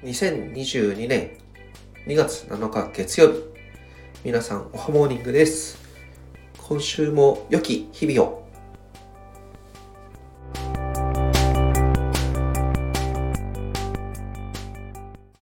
2022年2月7日月曜日、皆さんおはモーニングです。今週も良き日々を。